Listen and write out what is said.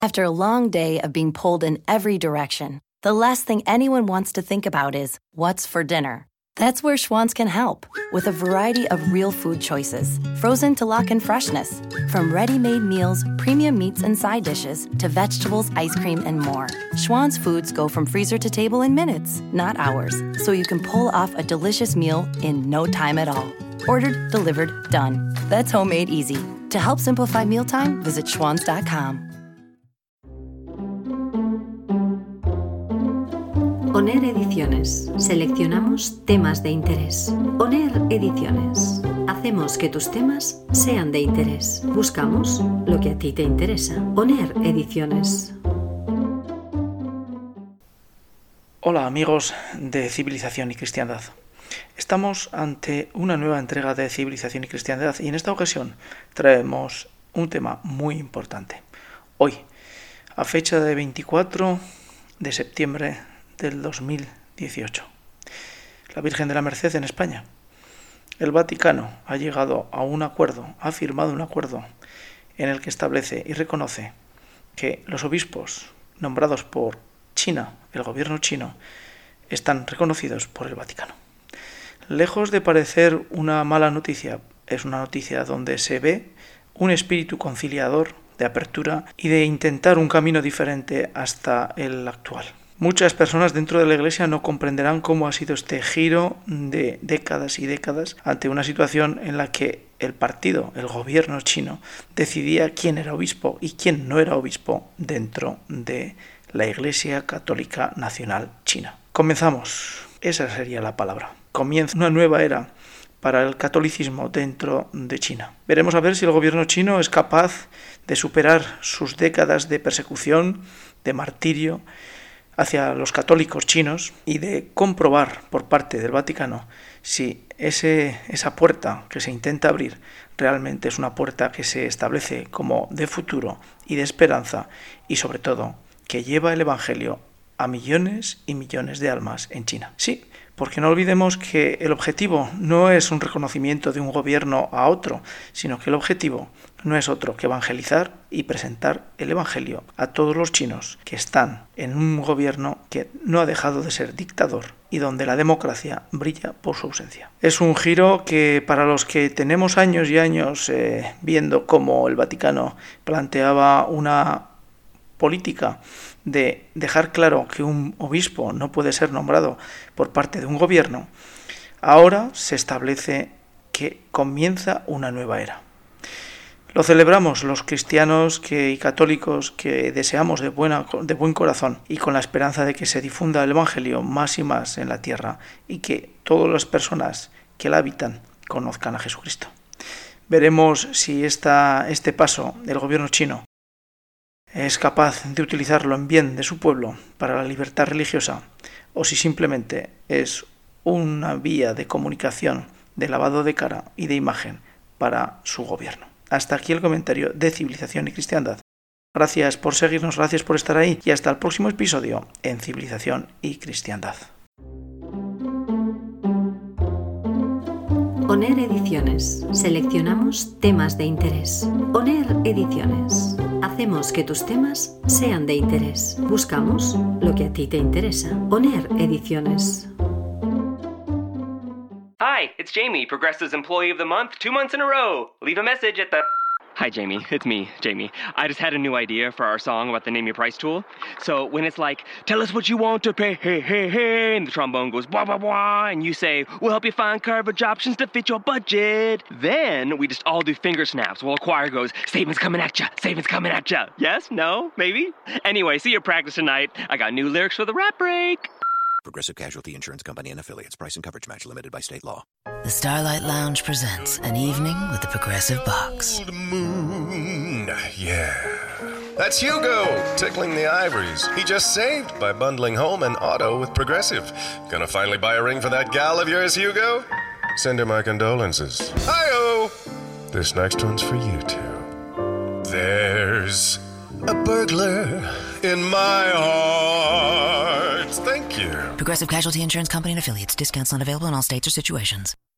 After a long day of being pulled in every direction, the last thing anyone wants to think about is what's for dinner. That's where Schwann's can help, with a variety of real food choices, frozen to lock in freshness. From ready-made meals, premium meats and side dishes, to vegetables, ice cream, and more. Schwann's foods go from freezer to table in minutes, not hours, so you can pull off a delicious meal in no time at all. Ordered, delivered, done. That's homemade easy. To help simplify mealtime, visit schwanns.com. ONER Ediciones. Seleccionamos temas de interés. ONER Ediciones. Hacemos que tus temas sean de interés. Buscamos lo que a ti te interesa. ONER Ediciones. Hola amigos de Civilización y Cristiandad. Estamos ante una nueva entrega de Civilización y Cristiandad y en esta ocasión traemos un tema muy importante. Hoy, a fecha de 24 de septiembre del 2018. La Virgen de la Merced en España. El Vaticano ha llegado a un acuerdo, ha firmado un acuerdo en el que establece y reconoce que los obispos nombrados por China, el gobierno chino, están reconocidos por el Vaticano. Lejos de parecer una mala noticia, es una noticia donde se ve un espíritu conciliador, de apertura y de intentar un camino diferente hasta el actual. Muchas personas dentro de la Iglesia no comprenderán cómo ha sido este giro de décadas y décadas ante una situación en la que el partido, el gobierno chino, decidía quién era obispo y quién no era obispo dentro de la Iglesia Católica Nacional China. Comenzamos. Esa sería la palabra. Comienza una nueva era para el catolicismo dentro de China. Veremos a ver si el gobierno chino es capaz de superar sus décadas de persecución, de martirio hacia los católicos chinos y de comprobar por parte del Vaticano si esa puerta que se intenta abrir realmente es una puerta que se establece como de futuro y de esperanza y sobre todo que lleva el Evangelio a millones y millones de almas en China. Sí, porque no olvidemos que el objetivo no es un reconocimiento de un gobierno a otro, sino que el objetivo no es otro que evangelizar y presentar el Evangelio a todos los chinos que están en un gobierno que no ha dejado de ser dictador y donde la democracia brilla por su ausencia. Es un giro que para los que tenemos años y años viendo cómo el Vaticano planteaba una política de dejar claro que un obispo no puede ser nombrado por parte de un gobierno, ahora se establece que comienza una nueva era. Lo celebramos los cristianos y católicos que deseamos de buen corazón y con la esperanza de que se difunda el Evangelio más y más en la tierra y que todas las personas que la habitan conozcan a Jesucristo. Veremos si este paso del gobierno chino es capaz de utilizarlo en bien de su pueblo para la libertad religiosa o si simplemente es una vía de comunicación, de lavado de cara y de imagen para su gobierno. Hasta aquí el comentario de Civilización y Cristiandad. Gracias por seguirnos, gracias por estar ahí y hasta el próximo episodio en Civilización y Cristiandad. ONER Ediciones. Seleccionamos temas de interés. ONER Ediciones. Hacemos que tus temas sean de interés. Buscamos lo que a ti te interesa. ONER Ediciones. Hi, it's Jamie, Progressive's Employee of the Month, 2 months in a row. Leave a message at the... Hi, Jamie. It's me, Jamie. I just had a new idea for our song about the Name Your Price tool. So when it's like, tell us what you want to pay, hey, hey, hey, and the trombone goes, blah, blah, blah, and you say, we'll help you find coverage options to fit your budget. Then we just all do finger snaps while a choir goes, savings coming at ya, savings coming at ya. Yes? No? Maybe? Anyway, see your practice tonight. I got new lyrics for the rap break. Progressive Casualty Insurance Company and Affiliates. Price and coverage match limited by state law. The Starlight Lounge presents An Evening with the Progressive Box. Old moon, yeah. That's Hugo, tickling the ivories. He just saved by bundling home and auto with Progressive. Gonna finally buy a ring for that gal of yours, Hugo? Send her my condolences. Hi-oh! This next one's for you two. There's a burglar in my heart. Thank you. Progressive Casualty Insurance Company and Affiliates. Discounts not available in all states or situations.